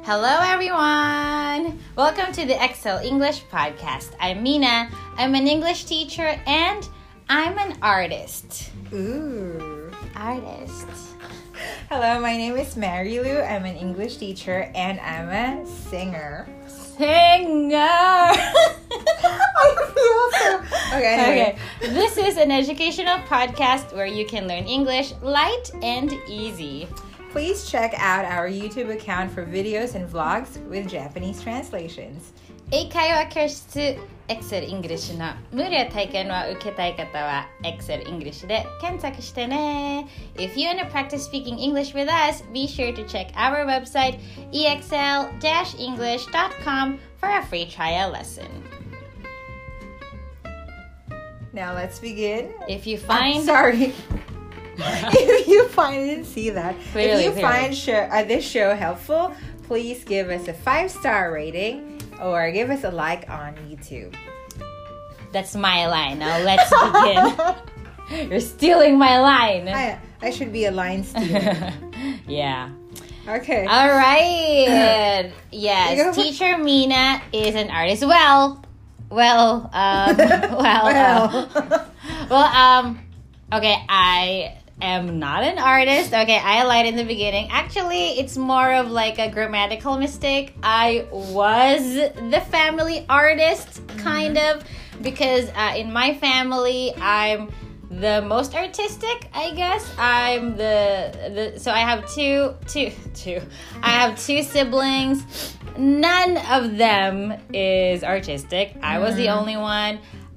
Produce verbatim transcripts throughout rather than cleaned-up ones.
Hello, everyone! Welcome to the Excel English Podcast. I'm Mina. I'm an English teacher and I'm an artist. Ooh. Artist. Hello, my name is Mary Lou. I'm an English teacher and I'm a singer. Singer! I feel so... Okay, anyway. Okay. This is an educational podcast where you can learn English light and easy. Please check out our YouTube account for videos and vlogs with Japanese translations. 英会話教室 Excel English の無料体験を受けたい方は Excel English で検索してね。If you want to practice speaking English with us, be sure to check our website e x l dash english dot com for a free trial lesson. Now let's begin. If you find... I'm sorry. If you find, I didn't see that. Clearly, if you clearly. find show, uh, this show helpful, please give us a five-star rating or give us a like on YouTube. That's my line. Now let's begin. You're stealing my line. I, I should be a line stealer. Yeah. Okay. All right. Yes, teacher Mina is an artist. Well, well, um, well, well. Uh, well, um, okay, I am not an artist. Okay, I lied in the beginning. Actually, it's more of like a grammatical mistake. I was the family artist, kind of, because uh, in my family, I'm the most artistic, I guess. I'm the, the so I have two, two, two. I have two siblings. None of them is artistic. I was the only one.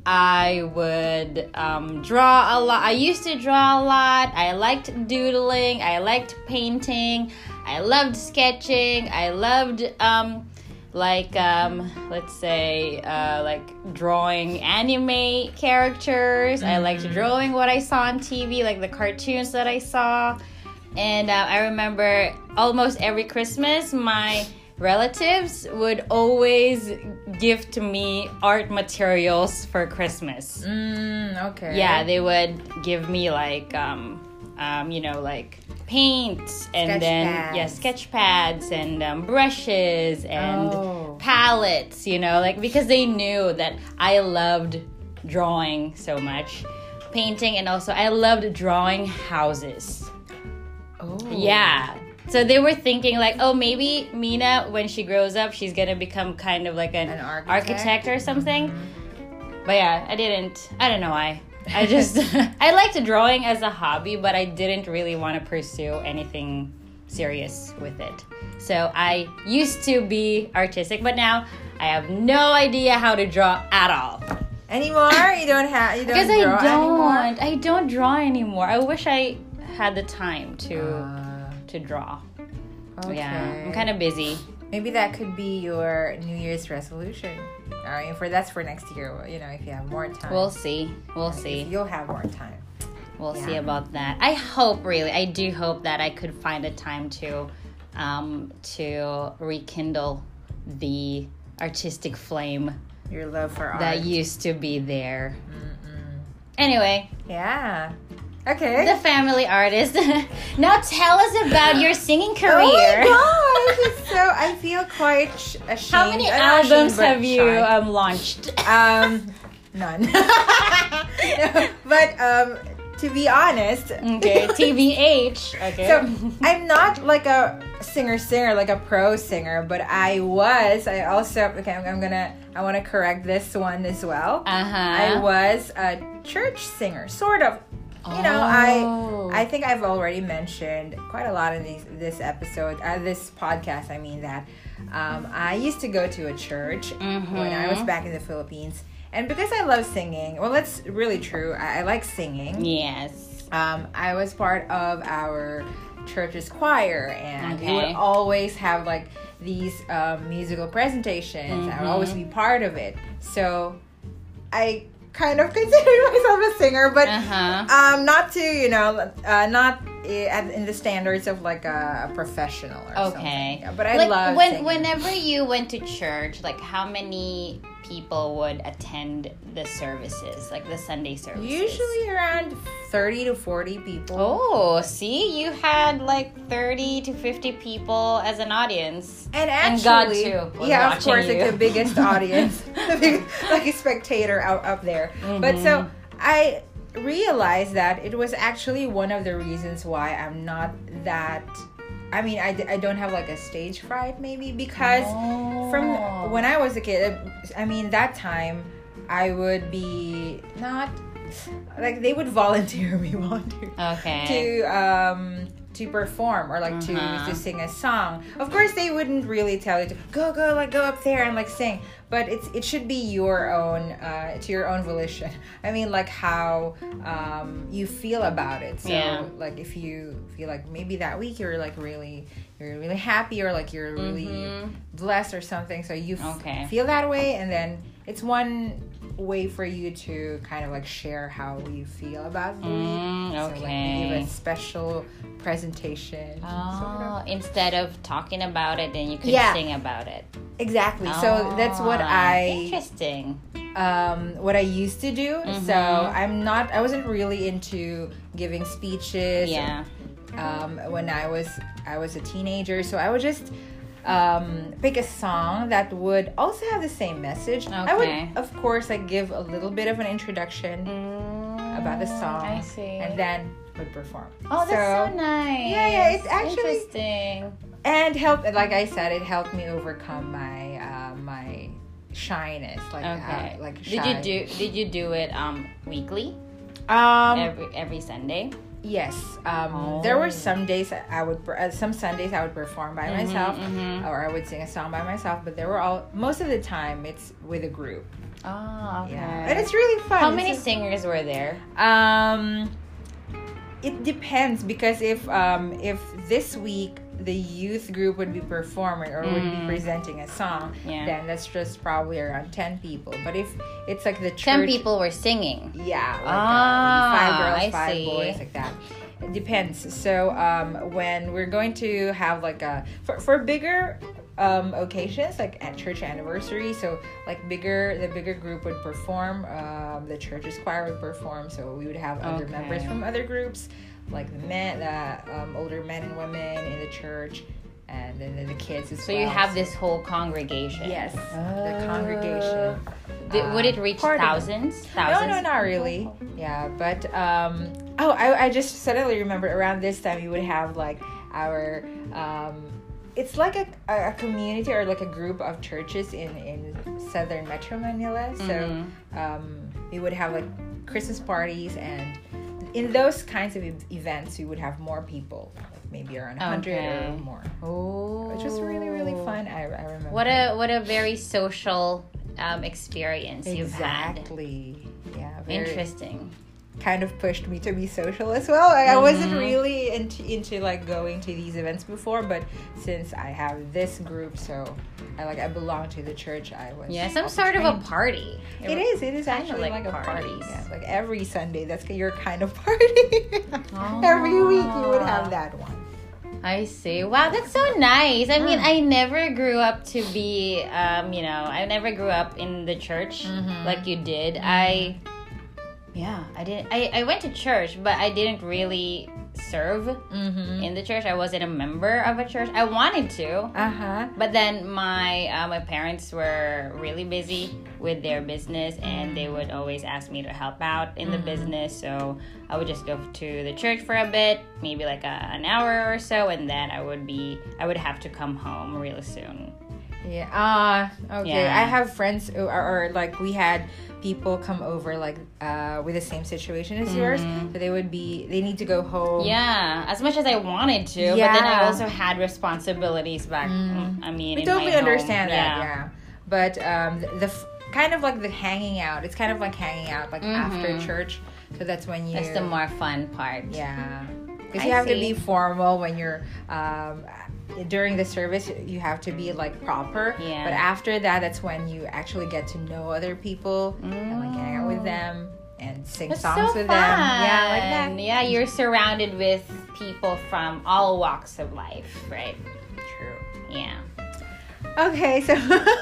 I would um, draw a lot. I used to draw a lot. I liked doodling. I liked painting. I loved sketching. I loved, um, like, um, let's say, uh, like drawing anime characters. Mm-hmm. I liked drawing what I saw on T V, like the cartoons that I saw. And uh, I remember almost every Christmas, my relatives would always gift me art materials for Christmas. Mm, okay. Yeah, they would give me like, um, um, you know, like paint and sketch then pads. yeah, sketch pads and um, brushes and oh. palettes. You know, like because they knew that I loved drawing so much, painting, and also I loved drawing houses. Oh. Yeah. So they were thinking like, oh, maybe Mina, when she grows up, she's going to become kind of like an, an architect? architect or something. Mm-hmm. But yeah, I didn't. I don't know why. I just, I liked drawing as a hobby, but I didn't really want to pursue anything serious with it. So I used to be artistic, but now I have no idea how to draw at all. Anymore? You don't have, you don't because draw I don't, anymore? I don't draw anymore. I wish I had the time to... Uh. to draw. Okay. Yeah, I'm kind of busy. Maybe that could be your New Year's resolution. I mean, for that's for next year. You know, if you have more time. We'll see. We'll If see. You'll have more time. We'll Yeah. see about that. I hope, really, I do hope that I could find a time to, um, to rekindle the artistic flame Your love for art. that used to be there. Mm-mm. Anyway. Yeah. Okay. The family artist. Now tell us about your singing career. Oh my gosh, it's so I feel quite sh- ashamed. How many I'm not albums ashamed, but have you shy. um, launched? Um, none. No, but um, to be honest, Okay, T B H. Okay. So I'm not like a singer singer, like a pro singer, but I was. I also okay. I'm, I'm gonna. I want to correct this one as well. Uh huh. I was a church singer, sort of. You know, Oh. I I think I've already mentioned quite a lot in these this episode, uh, this podcast. I mean that um, I used to go to a church Mm-hmm. when I was back in the Philippines, and because I love singing, well, that's really true. I, I like singing. Yes. Um, I was part of our church's choir, and we Okay. would always have like these um, musical presentations. I would always be part of it. So I kind of consider myself a singer, but Uh-huh. um, not to, you know, uh, not i- at, in the standards of like a, a professional or Okay. something. But I like, love when singing. whenever you went to church, like how many people would attend the services, like the Sunday services? Usually around thirty to forty people. Oh, see, you had like thirty to fifty people as an audience, and and actually, God too was yeah, of watching course, you. like the biggest audience, the big, like a spectator out up there. Mm-hmm. But so I realized that it was actually one of the reasons why I'm not that. I mean, I, I don't have like a stage fright, maybe, because Oh. from when I was a kid, I mean, that time I would be not like they would volunteer me, volunteer Okay. to um to perform or like Uh-huh. to to sing a song. Of course, they wouldn't really tell you to go go like go up there and like sing, but it's it should be your own uh to your own volition. I mean, like how um you feel about it. So Yeah. like if you feel like maybe that week you're like really you're really happy or like you're really Mhm. blessed or something, so you f- Okay. feel that way, and then it's one way for you to kind of like share how you feel about the week. Mm, So like we okay. give a special presentation. Oh, sort of. instead of talking about it, then you could Yeah. sing about it. Exactly. So that's what Ah, I Interesting. um what I used to do. Mhm. So I'm not I wasn't really into giving speeches. Yeah. Um when I was I was a teenager, so I would just um pick a song that would also have the same message. I would Okay. of course like give a little bit of an introduction Mm, about the song, I see. and then would perform. Oh, that's so, nice. Yeah, yeah, it's actually- interesting. And help, like I said, it helped me overcome my uh, my shyness. Like, Okay. uh, like did shy. you do? Did you do it um weekly? Um, every every Sunday. yes. Um, Oh. there were some days I would, per- uh, some Sundays I would perform by Mhm, myself, mhm. or I would sing a song by myself. But there were all most of the time it's with a group. Oh, okay. Yeah, and it's really fun. How It's many just- singers were there? Um, it depends, because if um if this week the youth group would be performing or would be Mm. presenting a song, Yeah. then that's just probably around ten people. But if it's like the church, Ten people were singing. yeah, like Ah, uh, five girls, I five see. boys, like that. It depends. So um, when we're going to have like a for for bigger um, occasions, like at church anniversary, so like bigger the bigger group would perform. Um, the church's choir would perform. So we would have other Okay. members from other groups, like the men, the um, older men and women in the church, and then the, the kids as So well. you have this whole congregation. Yes, Oh. the congregation. Th- would it uh, reach part of it. thousands? No, Thousands? no, not really. Yeah, but um, oh, I, I just suddenly remembered around this time we would have like our um, it's like a, a, a community or like a group of churches in in southern Metro Manila. So Mhm. um, we would have like Christmas parties, and in those kinds of e- events we would have more people, like maybe around a hundred Okay. or more, Oh. which was really really fun. I, I remember. What a what a very social um, experience you've had. exactly. Yeah. Very, Interesting. kind of pushed me to be social as well. I, I wasn't Mhm. really into, into like going to these events before, but since I have this group, so I like I belong to the church. I was Yeah, some also sort of a trained. party. It is. It is Kinda actually like like, a party. parties. Yeah, like every Sunday, that's your kind of party. Oh. Every week you would have that one. I see. Wow, that's so nice. I mean, Mm. I never grew up to be, um, you know, I never grew up in the church Mhm. like you did. I, yeah, I didn't. I, I went to church, but I didn't really serve Mm-hmm. in the church. I wasn't a member of a church. I wanted to, Uh huh. but then my uh, my parents were really busy with their business, and they would always ask me to help out in the Mhm. business. So I would just go to the church for a bit, maybe like a, an hour or so, and then I would be I would have to come home really soon. Yeah. Ah. okay. Yeah. I have friends who are, or like we had people come over like uh with the same situation as yours. Mhm. So they would be they need to go home. Yeah, as much as I wanted to, but then I Yeah. also had responsibilities back. Mm. I mean, We in my totally home. understand that. Yeah. But um the, the f- kind of like the hanging out. It's kind of like hanging out like Mhm. after church. So that's when you. That's the more fun part. Yeah. Because I you have to see. be formal when you're um during the service. You have to be like proper. Yeah. But after that, that's when you actually get to know other people and like hang out with them and sing That's songs so with fun. them. Yeah, like that. Yeah, you're surrounded with people from all walks of life, right? True. Yeah. Okay, so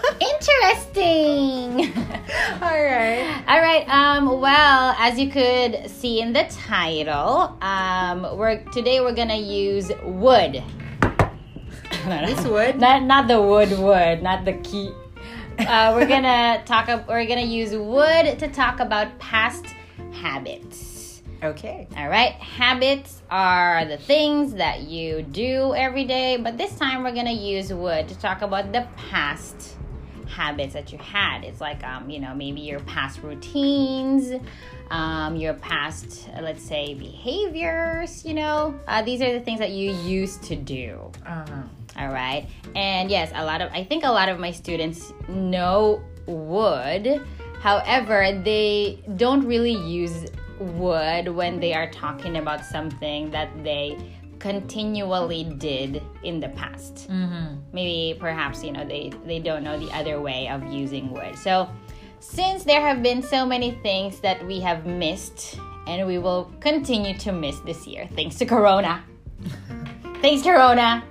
Interesting. all right. All right. Um. Well, as you could see in the title, um, we're today we're gonna use wood. This wood? Not not the wood wood, not the key. Uh, we're gonna talk. We're gonna use wood to talk about past habits. Okay. All right. Habits are the things that you do every day, but this time we're gonna use wood to talk about the past habits that you had. It's like um, you know, maybe your past routines, um, your past, uh, let's say, behaviors. You know, uh, these are the things that you used to do. Uh-huh. All right. And yes, a lot of I think a lot of my students know wood. However, they don't really use wood when they are talking about something that they continually did in the past. Mm-hmm. Maybe perhaps, you know, they, they don't know the other way of using wood. So since there have been so many things that we have missed and we will continue to miss this year, thanks to Corona. Thanks, Corona.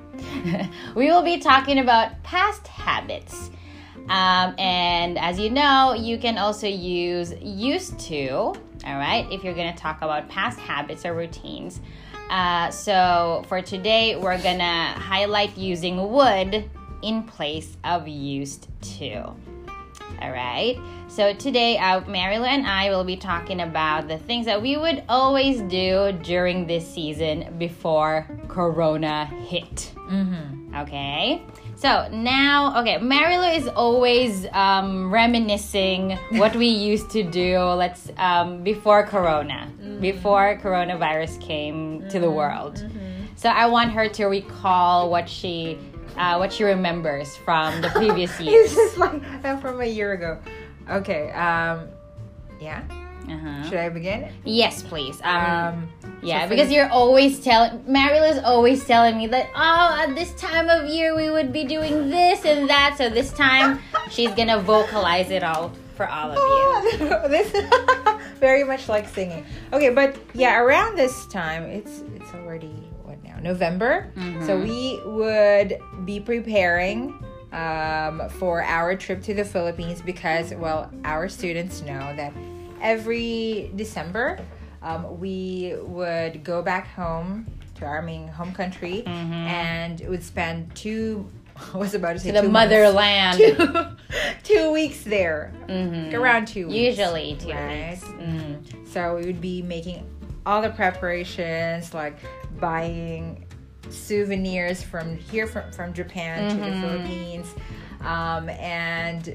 We will be talking about past habits. Um, and as you know, you can also use used to, all right, if you're going to talk about past habits or routines. Uh, so for today, we're going to highlight using would in place of used to. All right. So today, uh, Marilu and I will be talking about the things that we would always do during this season before Corona hit. Mm-hmm. Okay. So now, okay, Marilu is always um, reminiscing what we used to do. Let's um, before Corona, mm-hmm. before coronavirus came mm-hmm. to the world. Mm-hmm. So I want her to recall what she, uh, what she remembers from the previous years. It's just like uh, from a year ago. Okay. Um. Yeah. Uh-huh. Should I begin? Yes, please. Um, Um. yeah, so because the- you're always telling, Marilu is always telling me that, oh, at this time of year we would be doing this and that. So this time she's gonna vocalize it all for all of you. Oh, this very much like singing. Okay, but yeah, around this time, it's it's already what now? November. Mhm. So we would be preparing um, for our trip to the Philippines because, well, our students know that every December um, we would go back home to our main home country Mhm. and would spend two. I was about to say To the two months. motherland. Two, two weeks there. Mhm. Around two weeks. Usually two right? weeks. Mhm. So we would be making all the preparations, like buying souvenirs from here, from, from Japan to the Mhm. Philippines. Um, and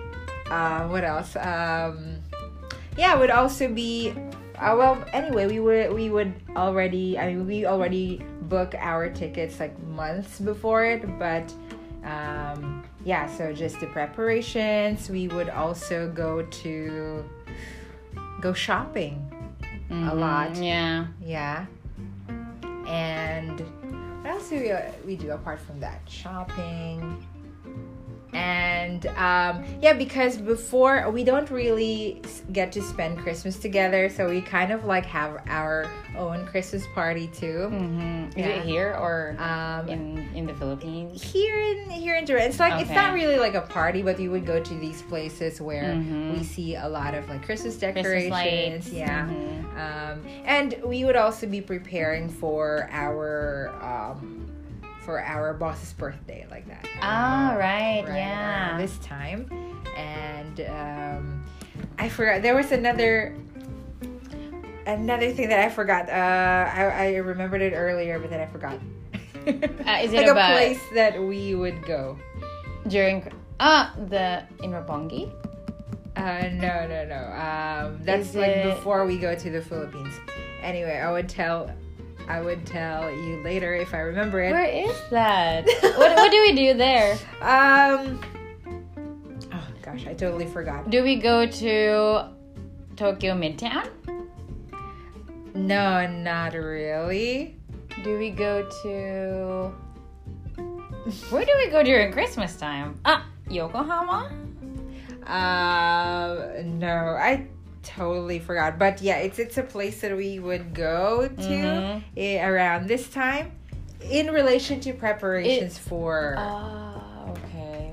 uh, what else? Um, yeah, it would also be. Uh, well, anyway, we would we would already. I mean, we already book our tickets like months before it, but um, yeah. So just the preparations. We would also go to go shopping a Mhm. lot. Yeah. Yeah. And what else do we, uh, we do apart from that? Shopping. And um, yeah, because before we don't really s- get to spend Christmas together, so we kind of like have our own Christmas party too. Mm-hmm. Is Yeah. it here or Um, in in the Philippines? here in here in Japan, it's like it's Okay. not really like a party, but we would go to these places where Mhm. we see a lot of like Christmas Christmas decorations. lights. Yeah. Mhm. Um, and we would also be preparing for our um, for our boss's birthday, like that. Ah, Uh, right, around yeah. This time, and um, I forgot there was another another thing that I forgot. Uh, I I remembered it earlier, but then I forgot. Uh, is it like about- a place that we would go? During ah the in Roppongi? Uh, no, no, no. Um, that's Is like it- before we go to the Philippines. Anyway, I would tell, I would tell you later if I remember it. Where is that? what what do we do there? Um. Oh gosh, I totally forgot. Do we go to Tokyo Midtown? No, not really. Do we go to where do we go during Christmas time? Ah, Yokohama? Uh, no, I totally forgot. But yeah, it's it's a place that we would go to Mhm. eh, around this time, in relation to preparations for. Oh, okay.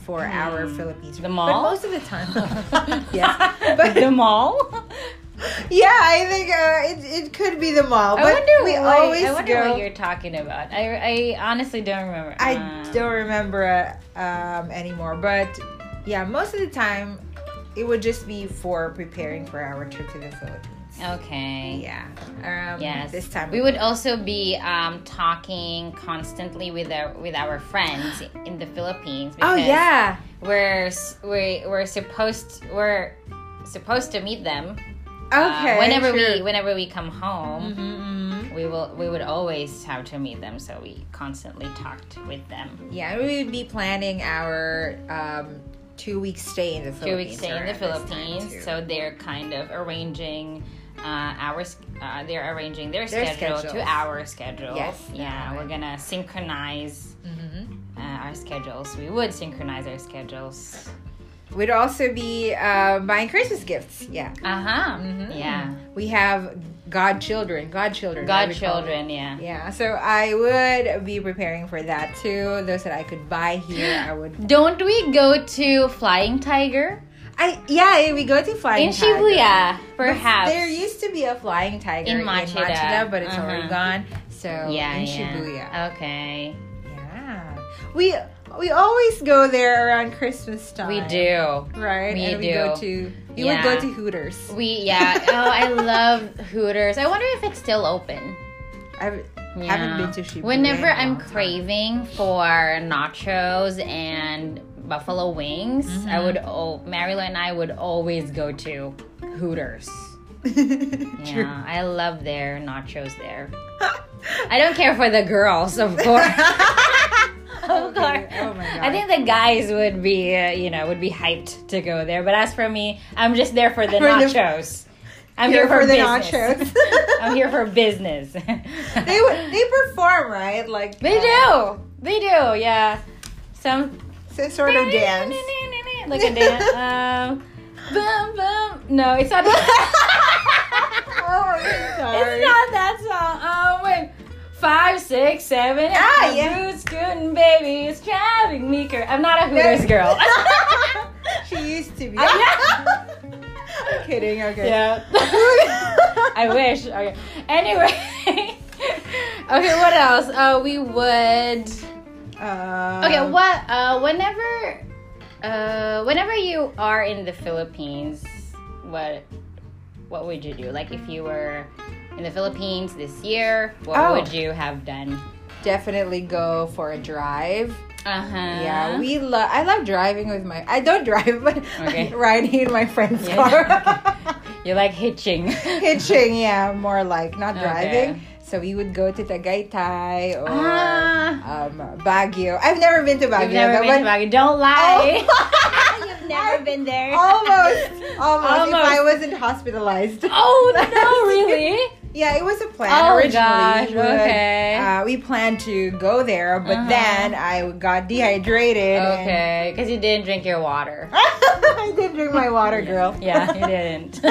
for our Philippines. The mall? But most of the time, yes. But The mall? yeah, I think uh, it it could be the mall. I But wonder, we what, always I wonder go. what you're talking about. I, I honestly don't remember. I Uh, don't remember um, anymore. But yeah, most of the time, it would just be for preparing for our trip to the Philippines. Okay. Yeah. Um, Yes. This time we would also be um, talking constantly with our with our friends in the Philippines. Oh because yeah. We're s- we we're supposed we're supposed to meet them. Okay. Uh, whenever sure. we whenever we come home, Mhm, mhm. we will we would always have to meet them. So we constantly talked with them. Yeah, we would be planning our um, two week stay in the Two Philippines. weeks stay in the around this time, Philippines. too. So they're kind of arranging. Uh, our s- uh, they're arranging their, Their schedule to schedules. our schedule. Yes, Yeah, right. we're gonna synchronize Mhm. uh, our schedules. We would synchronize our schedules. We'd also be uh, buying Christmas gifts. Yeah. Uh huh. Mhm. Yeah. We have godchildren. Godchildren. what we call them. Godchildren. Yeah. Yeah, so I would be preparing for that too. Those that I could buy here, I would. Don't we go to Flying Tiger I yeah, we go to Flying in Tiger. Shibuya? But Perhaps. there used to be a Flying Tiger In in Machida. Machida, but it's Uh-huh. already gone. So yeah. in yeah. Shibuya. Okay. Yeah, we we always go there around Christmas time. We do. right? We and we do. go to we Yeah. would go to Hooters. We yeah. Oh, I love Hooters. I wonder if it's still open. I Yeah. haven't been to Shibuya. Whenever in a I'm long time. craving for nachos and buffalo wings, Mm-hmm. I would oh Marilo and I would always go to Hooters. True. Yeah, I love their nachos there. I don't care for the girls, of course. Of Okay. course. Oh my god. I think the guys would be, uh, you know, would be hyped to go there. But as for me, I'm just there for the For the- nachos. I'm Here here, for, for the business. nachos. I'm here for business. they would- they perform, right? Like They uh, do. They do. Yeah. Some some sort of dance. like a dance. Um, boom, boom. No, it's not. Oh, I'm sorry. It's not that song. Oh wait. Five, six, seven. Ah, my yeah. boots, scooting, baby, it's driving me crazy. I'm not a Hooters girl. She used to be. I- I'm kidding. Okay. Yeah. I wish. Okay. Anyway. Okay. What else? Uh, we would. Uh, Okay. What? Uh, whenever. Uh, whenever you are in the Philippines, what? What would you do? Like if you were in the Philippines this year, what Oh. would you have done? Definitely go for a drive. Uh huh. Yeah, we love. I love driving with my. I don't drive, but Okay. riding in my friend's Yeah, car. You like hitching. Hitching, yeah, more like not Okay. driving. So we would go to Tagaytay or Ah. um, Baguio. I've never been to Baguio. You've never though, been to but- Baguio. Don't lie. Oh. You've never been there. Almost, almost, Almost. If I wasn't hospitalized. Oh no! Really? Yeah, it was a plan Oh, originally. gosh, We would, okay. Uh, we planned to go there, but Uh-huh. then I got dehydrated. and- Okay, because you didn't drink your water. I did drink my water, girl. Yeah, you didn't.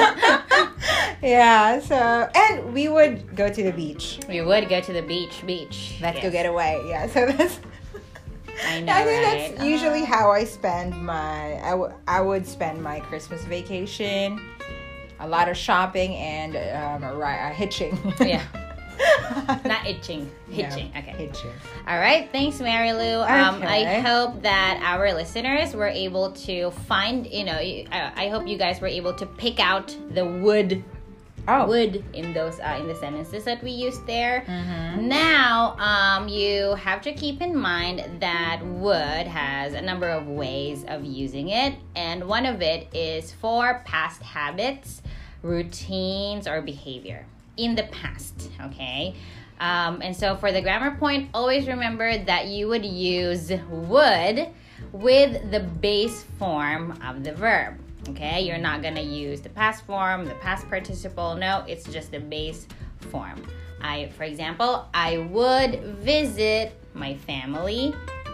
Yeah, so and we would go to the beach. We would go to the beach. Beach. Let's go Yes. get away. Yeah, so that's. I know, I think right? that's usually Uh-huh. how I spend my. I, w- I would spend my Christmas vacation. A lot of shopping and um, a, ri- a hitching. Yeah. Not itching. Hitching. Yeah, Okay. hitching. All right. Thanks, Mary Lou. Um, I Okay. hope that our listeners were able to find, you know, I, I hope you guys were able to pick out the wood Oh. would in those uh, in the sentences that we used there. Mhm. Now, um, you have to keep in mind that would has a number of ways of using it, and one of it is for past habits, routines, or behavior in the past. Okay. Um, and so for the grammar point, always remember that you would use would with the base form of the verb. Okay, you're not gonna use the past form, the past participle. No, it's just the base form. I, for example, I would visit my family.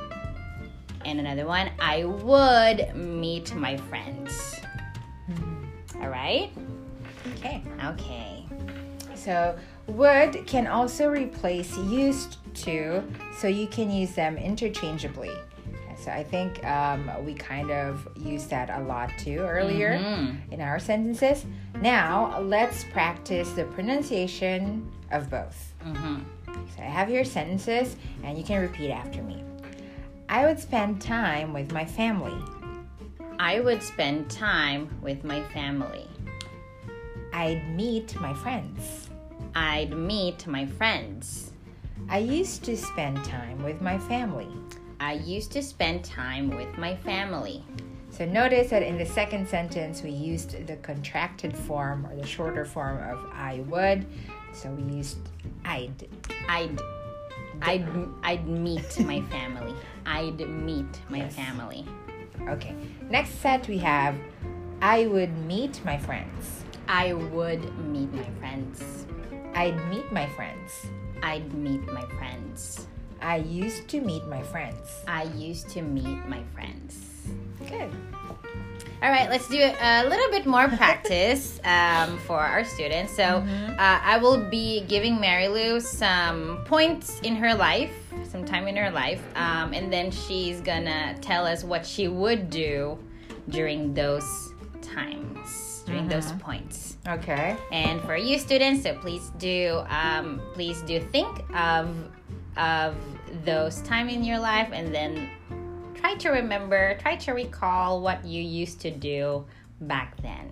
And another one, I would meet my friends. All right? Okay. Okay. So would can also replace used to, so you can use them interchangeably. So I think um, we kind of used that a lot too earlier Mm-hmm. in our sentences. Now let's practice the pronunciation of both. Mm-hmm. So I have your sentences and you can repeat after me. I would spend time with my family. I would spend time with my family. I'd meet my friends. I'd meet my friends. I used to spend time with my family. I used to spend time with my family. So notice that in the second sentence we used the contracted form or the shorter form of I would. So we used I'd. I'd I'd I'd meet my family. I'd meet my Yes. family. Okay. Next set we have I would meet my friends. I would meet my friends. I'd meet my friends. I'd meet my friends. I used to meet my friends. I used to meet my friends. Good. All right, let's do a little bit more practice um, for our students. So uh, I will be giving Mary Lou some points in her life, some time in her life, um, and then she's gonna tell us what she would do during those times, during those points. Okay. And for you students, so please do, um, please do think of of those time in your life, and then try to remember, try to recall what you used to do back then.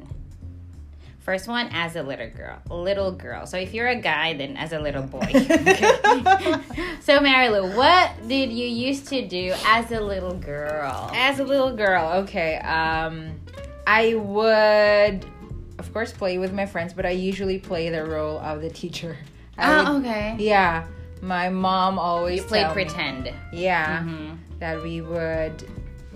First one, as a little girl. Little girl. So if you're a guy, then as a little boy. Okay. So Mary Lou, what did you used to do as a little girl? As a little girl, okay. Um, I would, of course, play with my friends, but I usually play the role of the teacher. I Oh, would- okay. Yeah. My mom always You play tell me- pretend. yeah. Mhm. That we would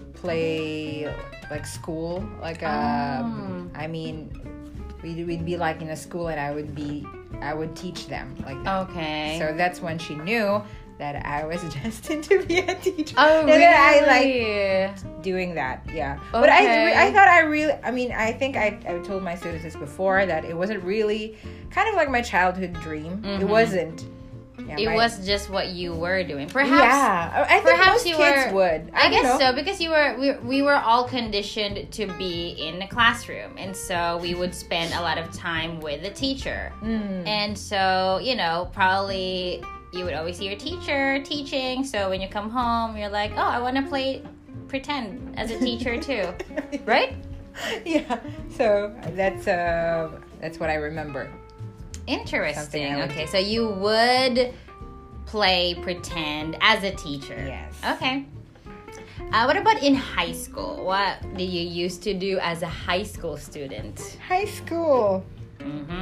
play like school, like um, I mean, we'd, we'd be like in a school, and I would be, I would teach them like that. Okay. So that's when she knew that I was destined to be a teacher. oh, And really? then I like doing that, yeah. But I, Okay. I thought I really, I mean, I think I, I told my students this before that it wasn't really kind of like my childhood dream. It Mhm. wasn't. Yeah, It my- was just what you were doing. Perhaps. yeah. I think perhaps most you kids were- would. I, don't guess know. so, because you were we, we were all conditioned to be in a classroom, and so we would spend a lot of time with the teacher. Mm. And so, you know, probably you would always see your teacher teaching. So when you come home, you're like, oh, I want to play pretend as a teacher too, right? Yeah. So that's uh that's what I remember. Something Interesting. I would Okay, do. so you would play pretend as a teacher. Yes. Okay. Uh, what about in high school? What did you used to do as a high school student? High school. Mm-hmm.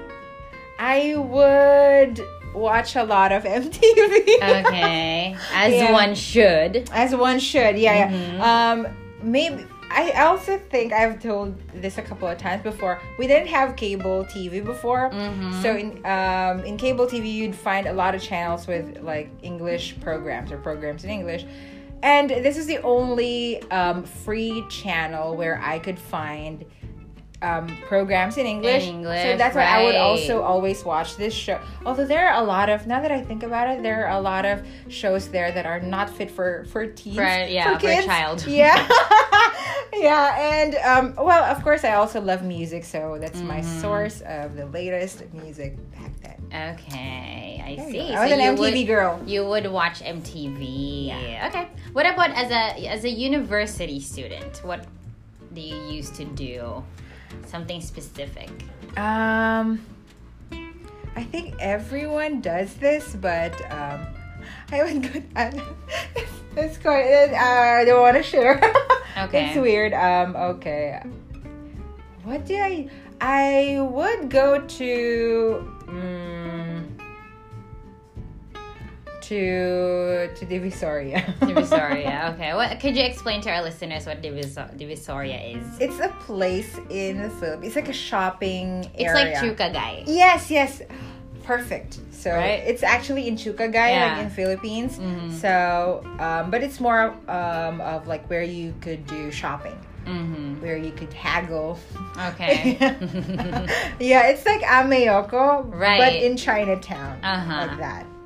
I would watch a lot of M T V. Okay, as Yeah. one should. As one should, yeah, Mhm. yeah. Um, maybe I also think I've told this a couple of times before. We didn't have cable T V before, Mhm. so in um in cable T V you'd find a lot of channels with like English programs or programs in English, and this is the only um, free channel where I could find um, programs in English. English, so that's why I would right. also always watch this show. Although there are a lot of, now that I think about it, there are a lot of shows there that are not fit for for teens, For- yeah, for a kids. child. Yeah, yeah, and um, well, of course, I also love music, so that's my Mhm. source of the latest music back then. Okay, I There you see. go. I was an you M T V would, girl. You would watch M T V. Yeah. Okay. What about as a as a university student? What do you used to do? Something specific. Um, I think everyone does this, but um, I would go. Uh, it's quite. Uh, I don't want to share. Okay. It's weird. Um. Okay. What do I? I would go to. Um, to to Divisoria. Divisoria. Okay. What could you explain to our listeners what Divisor- Divisoria is? It's a place in the Philippines. It's like a shopping It's area. like Chukagay. Yes, yes. Perfect. So Right? it's actually in Chukagay, Yeah. like in Philippines. Mhm. So, um, but it's more um, of like where you could do shopping, Mm-hmm. where you could haggle. Okay. Yeah, it's like Ameoko, but Right. in Chinatown, Uh-huh. like that.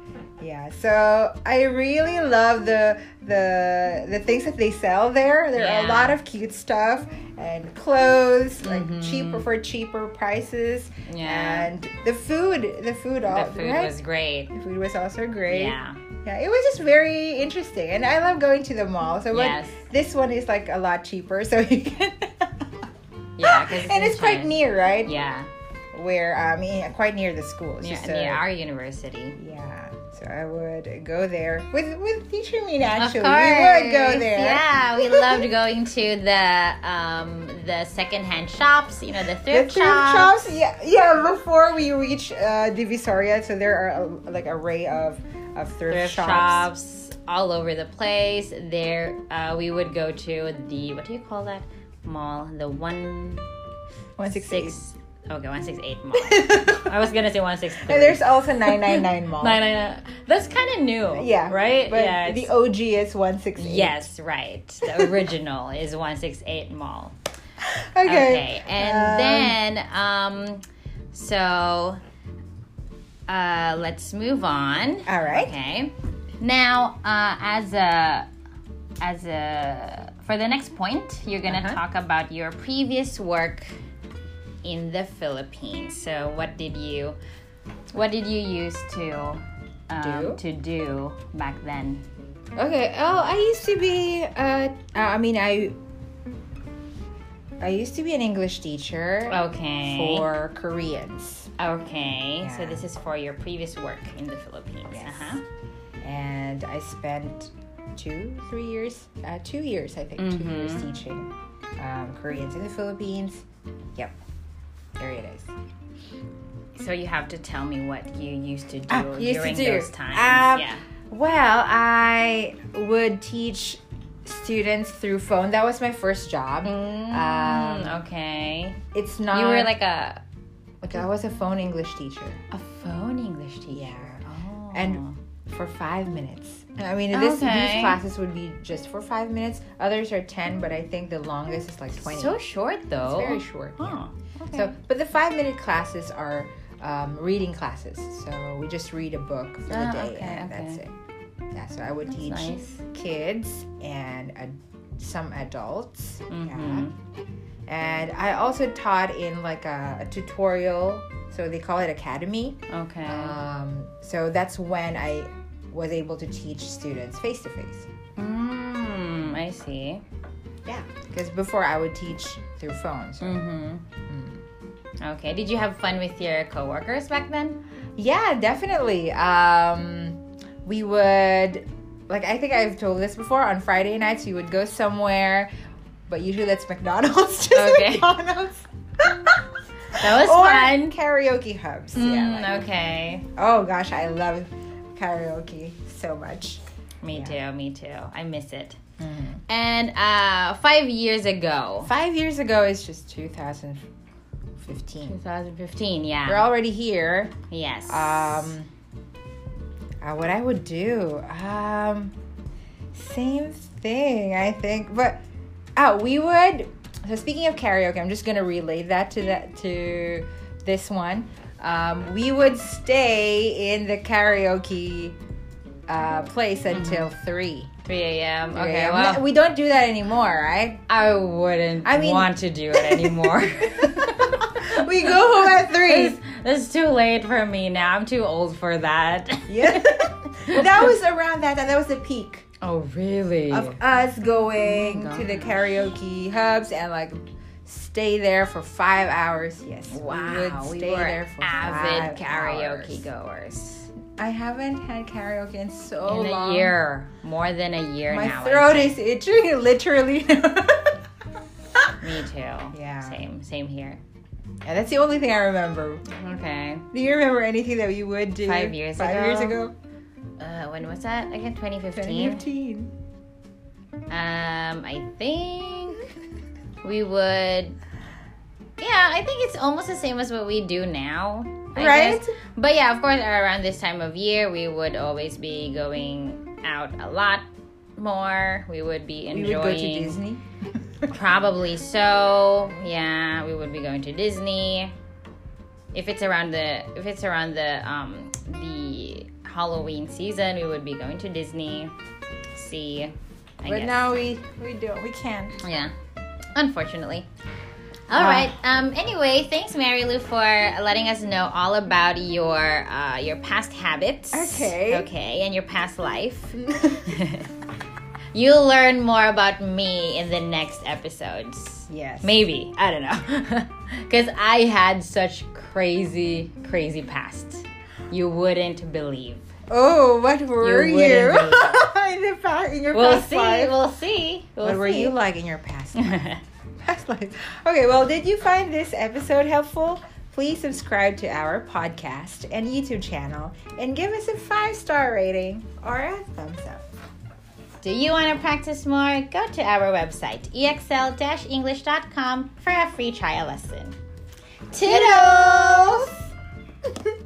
Yeah, so I really love the the the things that they sell there. There are a Yeah. lot of cute stuff and clothes, like Mhm. cheaper for cheaper prices. Yeah. And the food, the food, all The food right? was great. The food was also great. Yeah. Yeah, it was just very interesting, and I love going to the mall. So what, Yes. this one is like a lot cheaper, so you can. Yeah, 'cause it's and in it's quite China. near, right? Yeah. Where I mean, quite near the school. It's Yeah, just near a- our university. Yeah, so I would go there with with teacher Mina. Actually, Of course. we would go there. Yeah, we loved going to the um the secondhand shops. You know, the The thrift, thrift shops. shops. Yeah, yeah. Before we reach uh, Divisoria, so there are a, like array of of thrift, Thrift shops. shops all over the place. There, uh, we would go to the what do you call that mall? The one One six six. Okay, one six eight mall. I was gonna say one six three. And there's also nine nine nine mall. Nine nine nine. That's kind of new. Yeah, Right. But yeah. the it's- O G is one six eight. Yes, right. The original is one six eight mall. Okay. Okay, and Um, then um, so uh, let's move on. All right. Okay. Now, uh, as a as a for the next point, you're gonna Uh-huh. talk about your previous work in the Philippines. So, what did you what did you use to um, Do? to do back then? Okay. Oh, I used to be. Uh, I mean, I. I used to be an English teacher Okay. for Koreans. Okay, so Yeah. this is for your previous work in the Philippines. Yes. Uh-huh. And I spent two, three years, uh, two years, I think, two Mhm. years teaching um, Koreans in the Philippines. Yep, there it is. So you have to tell me what you used to do Ah, used to during do. those times. Um, yeah. Well, I would teach students through phone. That was my first job. Mm, um, okay. It's not. You were like a like I was a phone English teacher a phone English teacher. Yeah. Oh. And for five minutes. I mean, this, Okay. these classes would be just for five minutes. Others are ten, but I think the longest is like twenty. so short though. It's very short. Yeah. Huh. Okay. So, but the five minute classes are um, reading classes. So we just read a book for the Ah, day, okay, and okay. that's it. Yeah. So I would That's teach nice. kids and uh, some adults. Mhm. Yeah. And I also taught in like a, a tutorial. So they call it academy. Okay. Um, so that's when I was able to teach students face to face. mm, I see. Yeah. Because before I would teach through phone. So. Mm-hmm. Mm. Okay. Did you have fun with your coworkers back then? Yeah, definitely. Um, we would, like, I think I've told this before. On Friday nights, we would go somewhere, but usually that's McDonald's. Just Okay. McDonald's. That was or fun. karaoke hubs. yeah. Mm, Like, okay. oh gosh, I love karaoke so much. Me Yeah. too. Me too. I miss it. Mm. And uh, five years ago, Five years ago is just two thousand fifteen. twenty fifteen. Yeah. We're already here. yes. Um, uh, what I would do, um, same thing, I think. But oh, we would. So speaking of karaoke, I'm just gonna relate that to that to this one. Um, we would stay in the karaoke uh, place until three. three a.m. three Okay. a m. Well, We don't do that anymore, right? I wouldn't I mean- want to do it anymore. We go home at three. That's, that's too late for me now. I'm too old for that. Yeah, that was around that time. That was the peak. Oh, really? Of us going Oh my to the gosh. karaoke hubs and like stay there for five hours. Yes, Wow, we, stay were there for avid five karaoke hours. goers. I haven't had karaoke in so In long. a year, more than a year My now. I throat think. is itching, literally. Me too. Yeah. Same. Same here. Yeah, that's the only thing I remember. Okay. Do you remember anything that you would do Five years five ago? years ago? Uh, when was that again? twenty fifteen. twenty fifteen. Um, I think we would. Yeah, I think it's almost the same as what we do now. I Right? guess. But yeah, of course, around this time of year, we would always be going out a lot more. We would be We enjoying. would go to Disney. Probably so. Yeah, we would be going to Disney. If it's around the if it's around the um the Halloween season, we would be going to Disney. See, I but guess. now we we don't we can't. Yeah, unfortunately. All Ah. right. Um. Anyway, thanks, Mary Lou, for letting us know all about your uh your past habits. Okay. Okay, and your past life. You'll learn more about me in the next episodes. Yes. Maybe. I don't know. Because I had such crazy, crazy past. You wouldn't believe. Oh, what were You you, wouldn't in the past in your We'll past see. life? We'll see. We'll What were see. you like in your past life? Past life. Okay, well, did you find this episode helpful? Please subscribe to our podcast and YouTube channel and give us a five-star rating or a thumbs up. Do you want to practice more? Go to our website, e x l dash english dot com, for a free trial lesson. Toodles!